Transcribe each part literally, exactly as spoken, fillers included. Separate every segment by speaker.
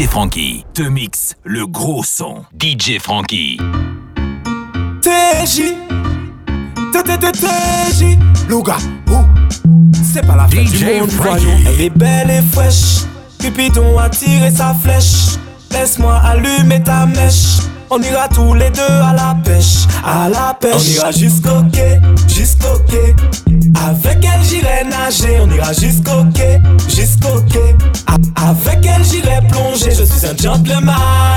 Speaker 1: J Frankie te mixe le gros son. D J Frankie.
Speaker 2: T J T T T T J Louga, ouh. C'est pas la fête du monde, voyons. Elle est belle et fraîche. Cupidon a tiré sa flèche. Laisse-moi allumer ta mèche. On ira tous les deux à la pêche, à la pêche. On ira jusqu'au quai, jusqu'au quai. Avec elle j'irai nager. On ira jusqu'au quai, jusqu'au quai. A- avec elle j'irai plonger. Je suis un gentleman,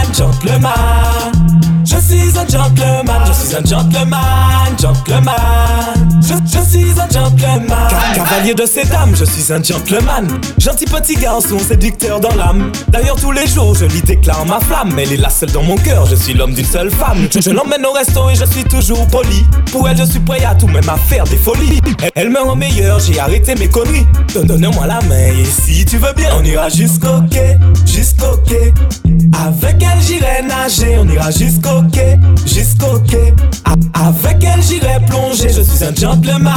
Speaker 2: gentleman. Je suis un gentleman, je suis un gentleman, gentleman. Je, je suis un gentleman. Ca- Cavalier de ces dames, je suis un gentleman. Gentil petit garçon, séducteur dans l'âme. D'ailleurs tous les jours je lui déclare ma flamme. Elle est la seule dans mon cœur, je suis l'homme d'une seule femme. Je, je l'emmène au resto et je suis toujours poli. Pour elle je suis prêt à tout, même à faire des folies. Elle, elle me rend meilleur, j'ai arrêté mes conneries. Donne- Donne-moi la main et si tu veux bien, on ira jusqu'au quai, jusqu'au quai. Avec elle j'irai nager, on ira jusqu'au quai, jusqu'au quai. A- avec elle j'irai plonger. Je suis un gentleman,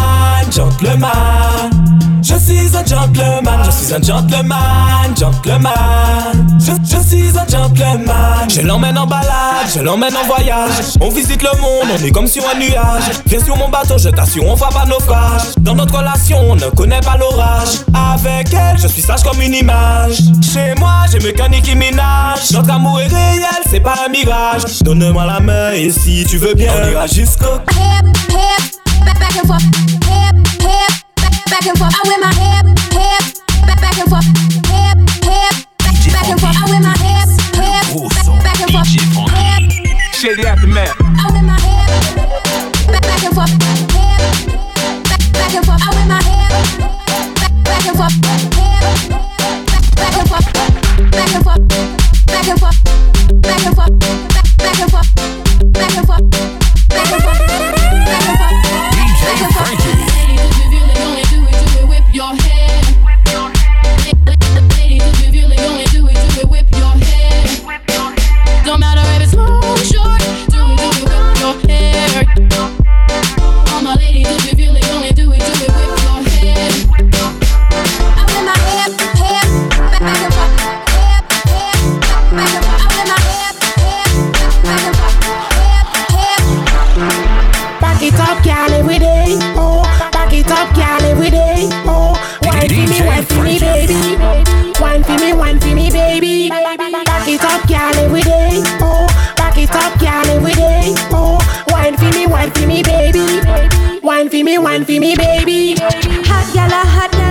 Speaker 2: gentleman. Je suis un gentleman, je suis un gentleman, gentleman. Je, je suis un gentleman. Je l'emmène en balade, je l'emmène en voyage. On visite le monde, on est comme sur un nuage. Viens sur mon bateau, je t'assure, on fera pas naufrage. Dans notre relation, on ne connaît pas l'orage. Avec elle, je suis sage comme une image. Chez moi, j'ai mécanique qui ménage. Notre amour est réel, c'est pas un mirage. Donne-moi la main et si tu veux bien, on ira jusqu'au
Speaker 3: Hip, hip, back, back and forth. Hip, hip, back, back and forth. I wear my hip, hip, back, back and forth. Hip, hip, back and forth. I wear my hip, hip, back and forth. Hip,
Speaker 4: Shady Aftermath.
Speaker 3: I wear my hip, back, back and forth. Hip, back, back and forth. I wear my hip, back, back and forth. Hip, back and forth, back and forth, back and forth, back and forth, back and forth, back and forth, back and forth, back and forth.
Speaker 1: D J Frankie.
Speaker 5: Ladies, if you really only do it, do it, whip your head. Ladies, if you really only do it, do it, whip your head. Don't matter if it's long or short, do it, do it, whip your hair. All my ladies, if you really only do it, do it, whip your head.
Speaker 3: I wear my hip, hip, back, back and forth. Hip, hip, back and forth. I wear my hip, hip, back and forth. Hip, hip.
Speaker 6: Back it up, girl, every day. Oh, back it up, girl, every day. Oh, wine for me, wine for me, baby. Wine for me, wine for me, baby. Back it up, girl, every day. Oh, back it up, girl, every day. Oh, wine for me, wine for me, baby. Wine for me, wine for me, baby.
Speaker 7: Hot gal, a hot gal,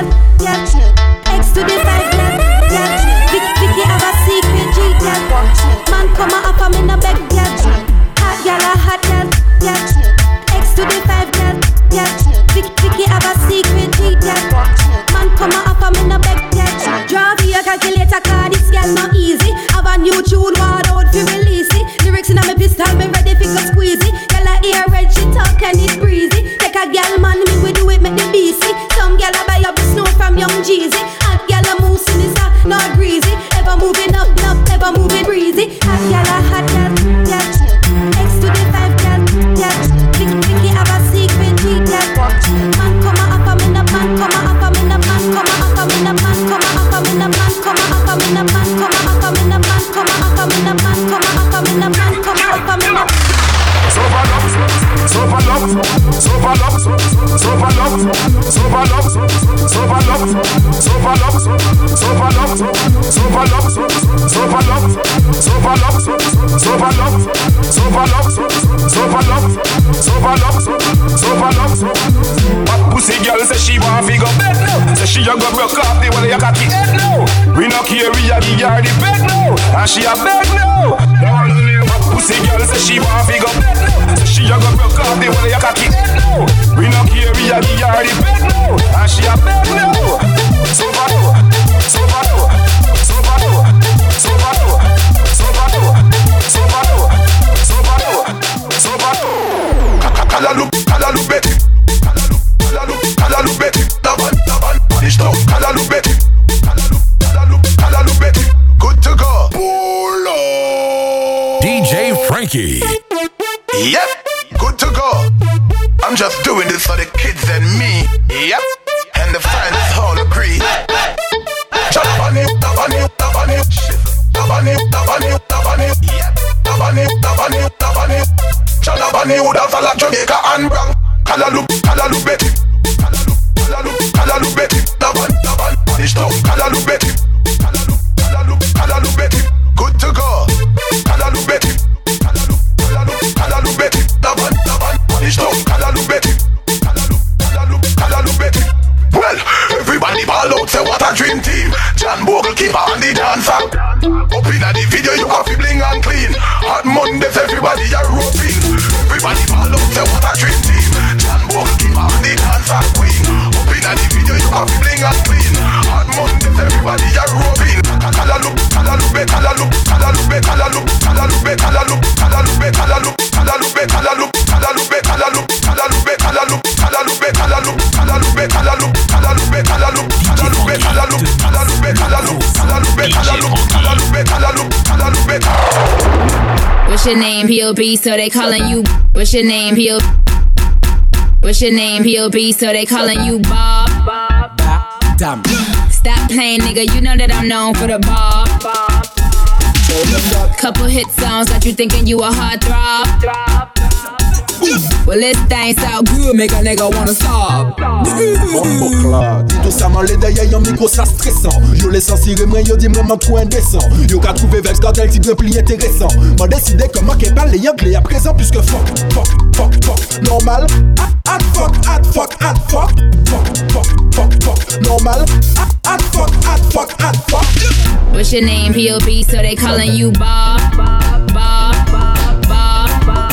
Speaker 7: yeah. X to the five gal, yeah. Vic, Vicky have a secret G, yeah. Man come a up, I'm in a bed, yeah. Hot gal, a hot gal, yeah. X to the five gal, yeah. Vic, Vicky have a secret G, yeah. Man come a up, I'm in a bed, yeah. Draw via calculator, cause this gal not easy. Have a new tune, word out fi release it. Lyrics in a me pistol, me ready fi go squeeze it. Gal a ear red, she talk and it breezy. Take a gal man, me we do it, make the B C. Some gal a buy up the snow from Young Jeezy. Hot gal a move sinister, not greasy. Ever moving up, up, ever moving breezy. Hot gal a hot gal, yeah. X to the five gal, yeah. Vic, Vicky have a secret G, yeah. Man come a up, I'm in a man, come a up, I'm in a man, come a up, I'm in a man, come a up, I'm in a man, come a up, I'm in a man, come a up, I'm in a man, come a up, I'm in a man, come a up, I'm in a man, come a up, I'm in a man.
Speaker 4: So for love, so for love, so for love, so for love, so for love, so for love, so for love, so for love, so for love, so for love, so for love, so for love, so for love, so for love, so for love, so for love. But pussy girl say she want fi go bed now. Say she a go broke off the way you got the head now. We no care we a give her the bed now, and she a beg now. Pussy girl say she want fi go bed now. Say she a go broke off the way you got the head now. We no care we a give her the bed now, and she a beg now. So for no, so for no, so for no, so for no, so for no, so for no, so for no, so for no. Kala look, kala look Betty, kala look, kala look, kala look Betty. Davan, davan, punish now. Kala look Betty, kala look, kala look, kala look Betty. Good to go. Pull up.
Speaker 1: D J Frankie.
Speaker 4: Yep, good to go. I'm just doing this for the kids and me. Yep, and the fans all agree. Jump on you, jump on you, jump on you, jump on you. Nabani, Nabani, Nabani, Nabani, Nabani. Chanabani would have like Jamaica and Brown. Kalalu, Kalalu Betty, Kalalu, Kalalu, Kalalu Betty. Naban, Naban, Ishto, Kalalu Betty, Kalalu, Kalalu, Kalalu Betty. Good to go. Kalalu Betty, Kalalu, Kalalu, Kalalu Betty. Naban, Naban, Ishto, Kalalu Betty, Kalalu, Kalalu, Kalalu Betty. Well, everybody ball out, say what a dream team. John Bogle keeper and the dancer. Up in the video, you have to bling and clean. Hot Mondays, everybody are roping. Everybody ball out, say what a dream team. John Bogle keeper and the dancer queen. Up in the video, you have to bling and clean. Hot Mondays, everybody are roping. Kalalu, Kalalu, be Kalalu, Kalalu, be Kalalu, Kalalu, be Kalalu, Kalalu, be Kalalu, Kalalu, be Kalalu, Kalalu, be Kalalu, Kalalu, be Kalalu, Kalalu, be Kalalu, Kalalu, be Kalalu, Kalalu, be Kalalu, Kalalu, be Kalalu, Kalalu, be Kalalu, Kalalu, be Kalalu, Kalalu, be Kalalu, Kalalu, be Kalalu.
Speaker 5: What's your name, P O B? So they calling you. What's your name, P O B? What's your name, P O B? So they calling you Bob.
Speaker 2: Damn.
Speaker 5: Stop playing, nigga. You know that I'm known for the Bob. Couple hit songs got you thinking you a hard throb. Well, this thing sound good, make a nigga wanna sob.
Speaker 8: Dis doucement les d'ailleurs y'a un micro ça stressant. Yo les censuré moi yo dis vraiment trop indécent. Yo qu'a trouvé vex quand elle dit plus intéressant. M'a décidé comment qu'elle parle les anglais à présent puisque fuck, fuck, fuck, fuck. Normal, at fuck, at fuck, at fuck. Fuck, fuck, fuck, fuck. Normal, at fuck, at fuck, at fuck.
Speaker 5: What's your name, P O B? So they calling you Bob. Bob, Bob, Bob, Bob.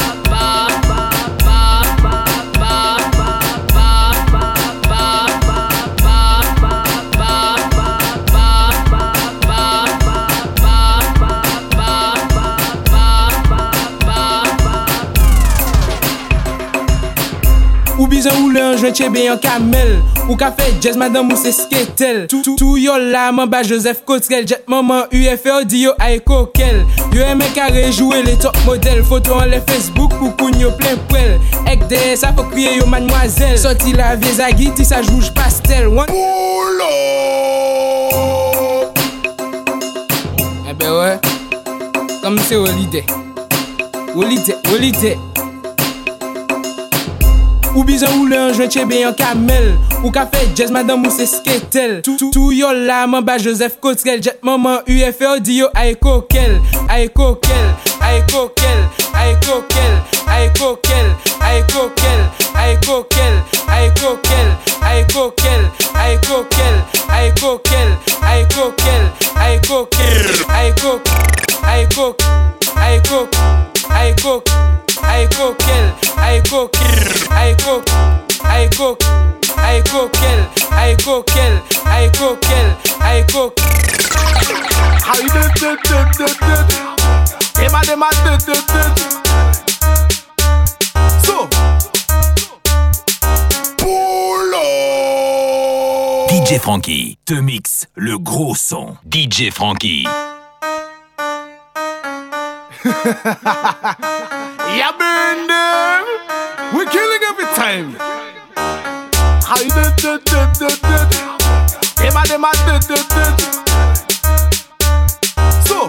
Speaker 2: Ou bizan ou le un joint chebe yon kamel. Ou ka fe jazz madame ou se sketel. Tout yo la man ba Joseph Cotrel. Jet maman U F O di yo ay kokel. Yo eme kare jouer les top model. Photo en le Facebook pou koun yo plein pouel. Ek de sa faut kriye yo mademoiselle. Sorti la vie zagi ti sa rouge pastel.
Speaker 4: Pull up.
Speaker 2: Eh ben ouais. Comme c'est holiday. Holiday, holiday. Ou bizan ou le un joint chebe yon kamel. Ou ka fe jazz madame ou se sketel. Tout yo la man ba Joseph Cotrel. Jet maman U F O di yo ay kokel. Ay kokel, ay kokel, ay kokel, ay kokel, ay kokel, ay kokel, ay kokel, ay kokel, ay kokel, ay kokel, ay kokel, ay kokel, ay kokel, ay kokel, ay kokel, ay kokel. I coquel, I coquel, I coquel, I coquel, I coquel, I coquel, I coquel, I coquel.
Speaker 4: I did did did did did. Dem a dem a did did did. So. Pull up.
Speaker 1: D J Frankie te mixe le gros son. D J Frankie.
Speaker 4: Yeah, burn them. We're killing every time. I did did did did did. Dem a dem a did did did. So,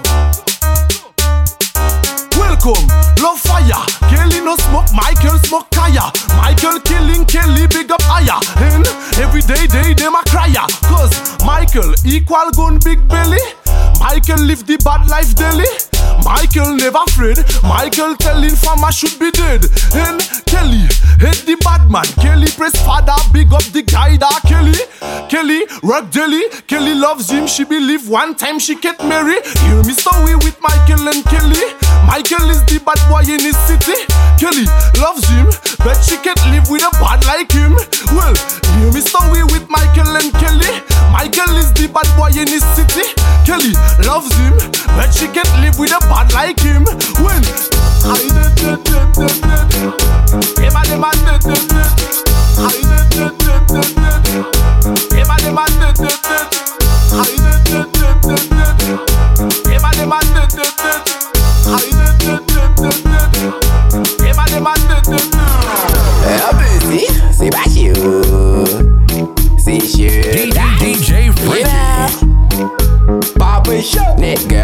Speaker 4: welcome, love fire. Kelly no smoke, Michael smoke kaya. Michael killing Kelly, big up higher. And every day they dem a cryer. Cause Michael equal gun big belly. Michael live the bad life daily. Michael never afraid. Michael telling farmer should be dead. And Kelly hate the bad man. Kelly press father, big up the guy that Kelly. Kelly rock daily. Kelly loves him. She believe one time she get married. Hear me story with Michael and Kelly. Michael is the bad boy in his city. Kelly loves him, but she can't live with a bad like him. Well, hear me story with Michael and Kelly. Michael is the bad boy in his city. Kelly loves him, but she can't live with a bad like him. When I did did did did did. Dem a dem a did did did. I did did did did did. Dem a dem a did did did. I did did did did did. Dem a dem a did did did. I did did did did did. Dem a dem a did did did.
Speaker 9: Ah ben si, c'est pas sûr. C'est sûr.
Speaker 1: D J Frankie.
Speaker 9: Papa shot, nigga.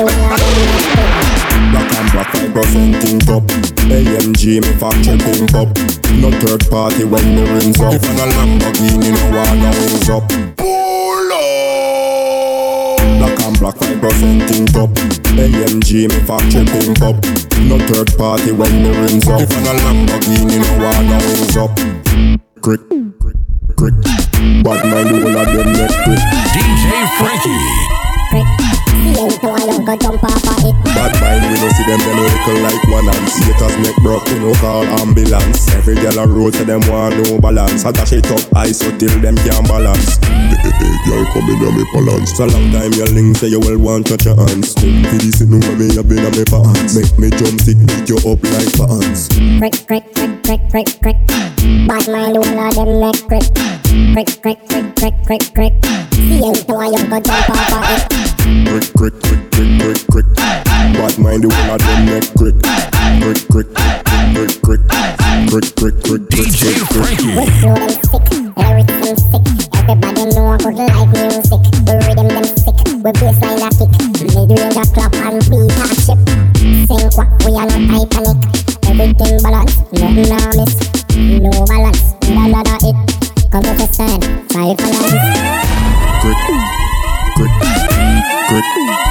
Speaker 6: the whole of them.
Speaker 8: Black and black five percent in top. A M G me factory pimp up. No third party when the rims up. If I'm a Lamborghini no one wings up. Pull up. Black and black five percent in top. A M G me factory pimp up. No third party when the rims up. If I'm a Lamborghini no one wings up. Crick, crick. Bad mind the whole of them neck crick.
Speaker 1: D J Frankie.
Speaker 6: Crick. See you to I don't go jump off of it.
Speaker 8: Bad mind we don't see them them little like one and Skaters neck broke we no call ambulance. Every girl a road to them want no balance. I dash it up high so till them can't balance. Hey, hey, hey, girl come in on me balance. So long time your link say you will want touch your hands. Come for this no me a been on me pants. Make me jump stick beat you up like fans.
Speaker 6: Crick, crick, crick, crick, crick, crick. Bad mind all of them neck crick. Crick, crick, crick, crick, crick, crick. See you to I don't go jump off of it.
Speaker 8: Crick, crick, crick, crick, crick, crick. Bad mind the whole of them neck crick. Crick, crick, crick, crick, crick, crick, crick,
Speaker 1: D J Frankie.
Speaker 6: We flow them sick, everything sick. Everybody know I could like music. We rhythm them sick, we bassline a kick. Mid-range a clap and beat a chip. Sing what we are not iconic. Everything balance, nothing a miss. No balance, another hit. Come to the stand, five balance.
Speaker 8: Crick, crick, crick,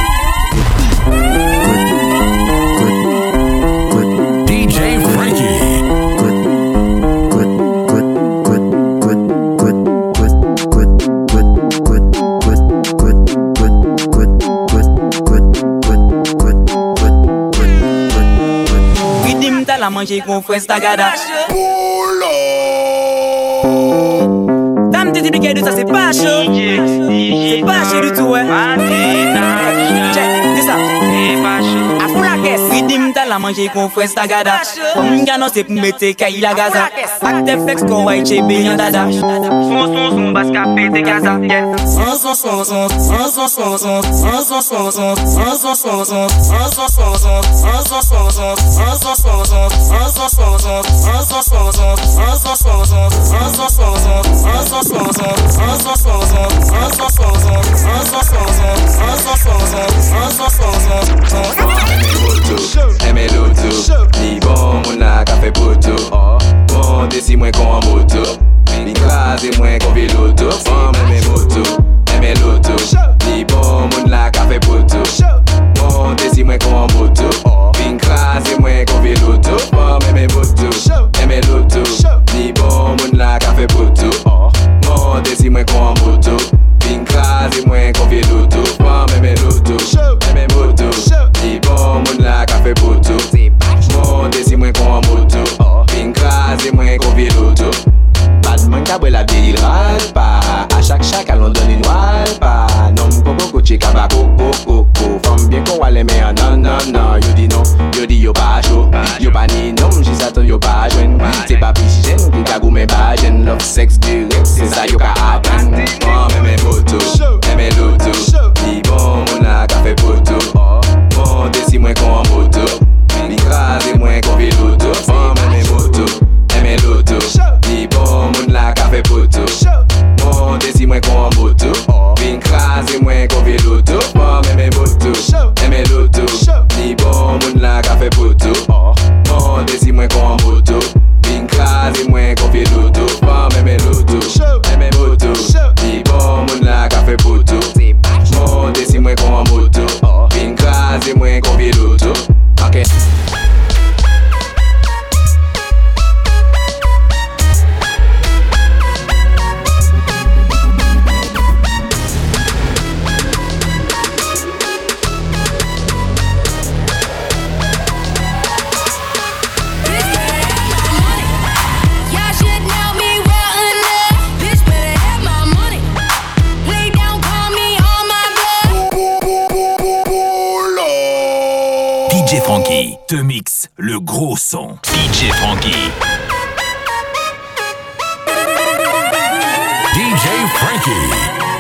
Speaker 8: crick, crick,
Speaker 1: D J Frankie.
Speaker 8: crick, crick, crick, crick, crick, crick, crick, crick, crick, crick, crick, crick, crick, crick, crick, crick, crick.
Speaker 10: Ridim t'as la manger qu'on fait stagada. Dame t'es typique de ça c'est pas chaud. C'est pas chaud du tout ouais. Check, dis ça. C'est pas chaud. A fou la caisse. Ridim t'as la manger qu'on fait sa gada. Comme gano c'est pour mettre caille la gaza. Acte flex qu'on va y bien dada. Son son son basse capé de gaza. Son son son son son son son son son son son son son son son son son
Speaker 9: Aimez l'auto, ni bon mon la café poto. Bon décis moins qu'on en moto, ni crase moins qu'on véloto. Bon aimez moto, aimez l'auto, ni bon mon la café poto. Bon décis moins qu'on en moto, ni crase moins qu'on véloto. Bon aimez moto, aimez l'auto, ni bon mon la café poto. Bon décis moins qu'on en moto, ni crase moins qu'on véloto. Bon aimez l'auto, aimez moto, ni bon mon la café poto. Bon décis moins qu'on en moto, ni crase moins qu'on véloto. Badman kabwe la vieille râle pas. À chaque chaque allons donner une râle pas. Non popo coche kabako coco. Femme bien qu'on va les mettre non non non. Yo dis non, yo dis yo pas chaud. Yo pas ni nom, j'y s'attend yo pas jeune. C'est pas pichène, qui kagou mais pas jeune. Love sex direct, c'est ça yo ka happen. Oh mais mes moto, mes l'auto. Ni bon mon a café poto. Bon décis moins qu'on en moto. Ni crase moins qu'on véloto. Oh mais mes moto, mes l'auto. Ni bon moun la café poto. Bon décis moins qu'on en moto. Bin crase moins qu'on véloto. Bon mais mes moto, mes l'auto. Ni bon moun la café poto. Bon décis moins qu'on en moto. Bin crase moins qu'on véloto. Bon mais mes l'auto, mes moto. Ni bon moun la café poto. Bon décis moins qu'on en moto. Bin crase moins qu'on véloto. Ok.
Speaker 1: D J Frankie te mixe le gros son. D J Frankie. D J Frankie.